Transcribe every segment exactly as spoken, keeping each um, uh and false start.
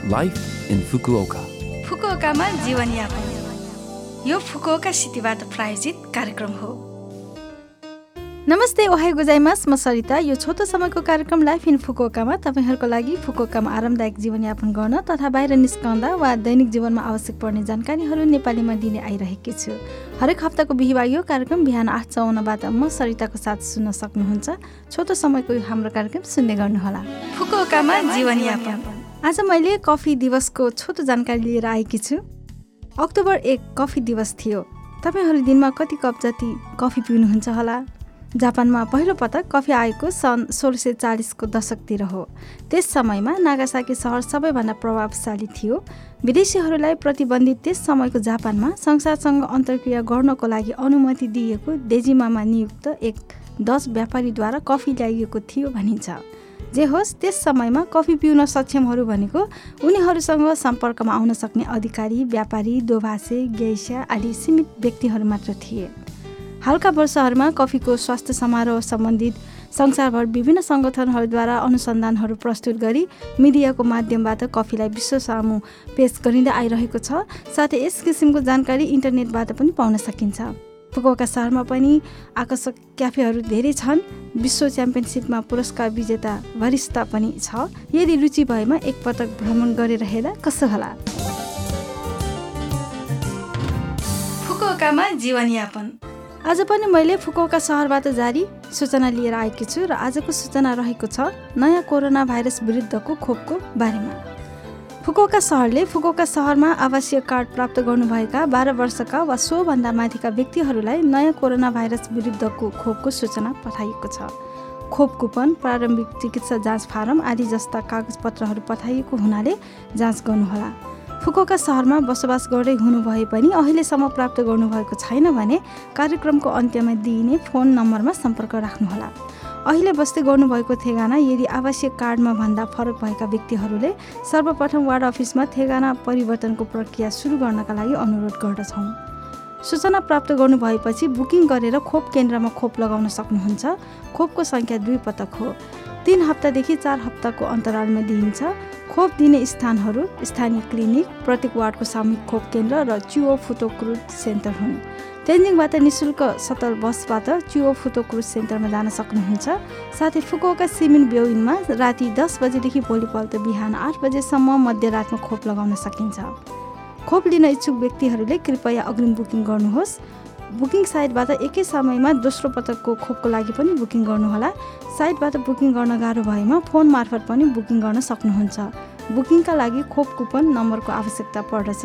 Life in Fukuoka. फुकुओकामा जीवनयापन यो Fukuoka सिटीबाट प्रायोजित कार्यक्रम हो। नमस्ते, ओहाई गोजाइमास, म सरिता। यो छोटो समयको कार्यक्रम लाइफ इन फुकुओकामा तपाईहरूको लागि फुकुओकामा आरामदायक जीवनयापन गर्न तथा बाहिर निस्कँदा वा दैनिक जीवनमा आवश्यक पर्ने जानकारीहरू नेपालीमा दिने आइरहेकी छु। हरेक हप्ताको बिहिबार यो कार्यक्रम बिहान आठ चौवन्नबाट म सरिताको साथ सुन्न सक्नुहुन्छ। छोटो समयको यो हाम्रो कार्यक्रम सुन्दै गर्नुहोला। फुकुओकामा जीवनयापन। आज मैले कफी दिवसको छोटो जानकारी लिएर आएकी छु। अक्टोबर एक कफी दिवस थियो। तपाईहरू दिनमा कति कप जति कफी पिउनुहुन्छ होला? जापानमा पहिलो पटक कफी आएको सन् सोह्र सय चालिसको दशकतिर हो। त्यस समयमा नागासाकी सहर सबैभन्दा प्रभावशाली थियो। विदेशीहरूलाई प्रतिबन्धित त्यस समयको जापानमा संसारसँग अन्तर्क्रिया गर्नको लागि अनुमति दिएको डेजिमामा नियुक्त एक दस व्यापारीद्वारा कफी ल्याइएको थियो भनिन्छ। जे होस्, त्यस समयमा कफी पिउन सक्षमहरू भनेको उनीहरूसँग सम्पर्कमा आउन सक्ने अधिकारी, व्यापारी, दोभाषे, गेइसा आदि सीमित व्यक्तिहरू मात्र थिए। हालका वर्षहरूमा कफीको स्वास्थ्य समारोह सम्बन्धित संसारभर विभिन्न सङ्गठनहरूद्वारा अनुसन्धानहरू प्रस्तुत गरी मिडियाको माध्यमबाट कफीलाई विश्व सामु पेश गरिँदै आइरहेको छ। साथै यस किसिमको जानकारी इन्टरनेटबाट पनि पाउन सकिन्छ। फुकुओका सहरमा पनि आकर्षक क्याफेहरू धेरै छन्। विश्व च्याम्पियनसिपमा पुरस्कार विजेता वरिष्ठ पनि छ। यदि रुचि भएमा एकपटक भ्रमण गरेर हेर्दा कसो होला? फुकुओकामा जीवनयापन। आज पनि मैले फुकुओका सहरबाट जारी सूचना लिएर आएकी छु र आजको सूचना रहेको छ नयाँ कोरोना भाइरस विरुद्धको खोपको बारेमा। फुकुओका सहरले फुकुओका सहरमा आवासीय कार्ड प्राप्त गर्नुभएका बाह्र वर्षका वा सोभन्दा माथिका व्यक्तिहरूलाई नयाँ कोरोना भाइरस विरुद्धको खोपको सूचना पठाइएको छ। खोप कुपन, प्रारम्भिक चिकित्सा जाँच फारम आदि जस्ता कागजपत्रहरू पठाइएको हुनाले जाँच गर्नुहोला। फुकुओका सहरमा बसोबास गर्दै हुनुभए पनि अहिलेसम्म प्राप्त गर्नुभएको छैन भने कार्यक्रमको अन्त्यमा दिइने फोन नम्बरमा सम्पर्क राख्नुहोला। अहिले बस्दै गर्नुभएको ठेगाना यदि आवासीय कार्डमा भन्दा फरक भएका व्यक्तिहरूले सर्वप्रथम वार्ड अफिसमा ठेगाना परिवर्तनको प्रक्रिया सुरु गर्नका लागि अनुरोध गर्दछौँ। सूचना प्राप्त गर्नुभएपछि बुकिङ गरेर खोप केन्द्रमा खोप लगाउन सक्नुहुन्छ। खोपको सङ्ख्या दुई पटक हो। तीन हप्तादेखि चार हप्ताको अन्तरालमा दिइन्छ। खोप दिने स्थानहरू स्थानीय क्लिनिक, प्रत्येक वार्डको सामूहिक खोप केन्द्र र चुओ फुटोक्रुज सेन्टर हुन्। तेन्जिङबाट निःशुल्क सटल बसबाट चुओ फुटोक्रुज सेन्टरमा जान सक्नुहुन्छ। साथै फुकुओका सिमिन ब्योइनमा राति दस बजेदेखि भोलिपल्ट बिहान आठ बजेसम्म मध्यरातमा खोप लगाउन सकिन्छ। खोप लिन इच्छुक व्यक्तिहरूले कृपया अग्रिम बुकिङ गर्नुहोस्। बुकिङ साइटबाट एकै समयमा दोस्रो पटकको खोपको लागि पनि बुकिङ गर्नुहोला। साइटबाट बुकिङ गर्न गाह्रो भएमा फोन मार्फत पनि बुकिङ गर्न सक्नुहुन्छ। बुकिङका लागि खोप कुपन नम्बरको आवश्यकता पर्दछ।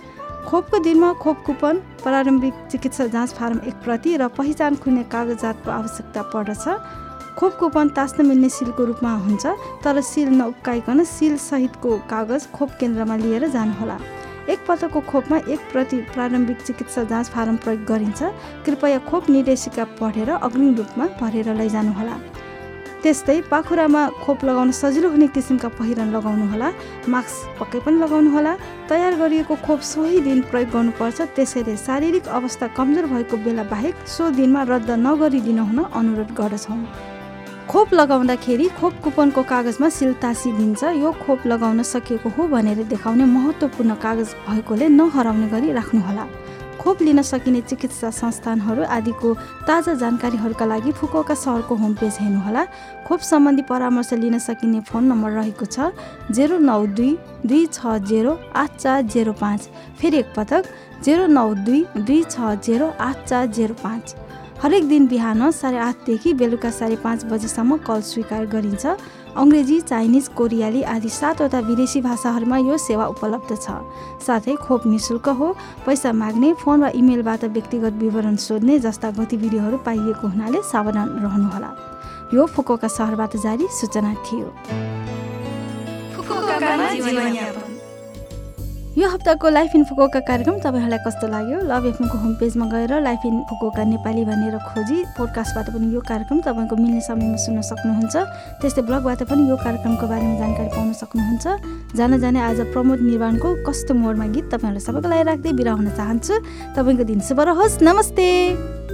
खोपको दिनमा खोप कुपन, प्रारम्भिक चिकित्सा जाँच फारम एक प्रति र पहिचान खुल्ने कागजातको आवश्यकता पर्दछ। खोप कुपन टाँस्न मिल्ने सिलको रूपमा हुन्छ, तर सिल नउक्काइकन सिल सहितको कागज खोप केन्द्रमा लिएर जानुहोला। एक पटकको खोपमा एक प्रति प्रारम्भिक चिकित्सा जाँच फारम प्रयोग गरिन्छ। कृपया खोप निर्देशिका पढेर अग्रिम रूपमा भरेर लैजानुहोला। त्यस्तै पाखुरामा खोप लगाउन सजिलो हुने किसिमका पहिरन लगाउनुहोला। मास्क पक्कै पनि लगाउनुहोला। तयार गरिएको खोप सोही दिन प्रयोग गर्नुपर्छ। त्यसैले शारीरिक अवस्था कमजोर भएको बेला बाहेक सो दिनमा रद्द नगरिदिन हुन अनुरोध गर्दछौँ। खोप लगाउँदाखेरि खोप कुपनको कागजमा सिल टाँसिदिन्छ। यो खोप लगाउन सकिएको हो भनेर देखाउने महत्त्वपूर्ण कागज भएकोले नहराउने गरी राख्नुहोला। खोप लिन सकिने चिकित्सा संस्थानहरू आदिको ताजा जानकारीहरूका लागि फुकुओका सहरको होम पेज हेर्नुहोला। खोप सम्बन्धी परामर्श लिन सकिने फोन नम्बर रहेको छ जेरो नौ दुई दुई छ जेरो आठ चार जेरो पाँच। फेरि एकपटक जेरो नौ दुई दुई छ जेरो आठ चार जेरो पाँच। हरेक दिन बिहान साढे आठदेखि बेलुका साढे पाँच बजेसम्म कल स्वीकार गरिन्छ। अङ्ग्रेजी, चाइनिज, कोरियाली आदि सातवटा विदेशी भाषाहरूमा यो सेवा उपलब्ध छ। साथै खोप निःशुल्क हो। पैसा माग्ने, फोन वा इमेलबाट व्यक्तिगत विवरण सोध्ने जस्ता गतिविधिहरू पाइएको हुनाले सावधान रहनुहोला। यो फुकुओका सहरबाट जारी सूचना थियो। फुकुओकामा जीवनयापन। यो हप्ताको लाइफ इन फुकुओका कार्यक्रम तपाईँहरूलाई कस्तो लाग्यो? लभ एफएमको होम पेजमा गएर लाइफ इन फुकुओका नेपाली भनेर खोजी पोडकास्टबाट पनि यो कार्यक्रम तपाईँको मिल्ने समयमा सुन्न सक्नुहुन्छ। त्यस्तै ब्लगबाट पनि यो कार्यक्रमको बारेमा जानकारी पाउन सक्नुहुन्छ। जान जाने आज प्रमोद निर्वाणको कस्तो मोडमा गीत तपाईँहरूलाई सबैको लागि राख्दै बिदा हुन चाहन्छु। तपाईँको दिन शुभ रहोस्। नमस्ते।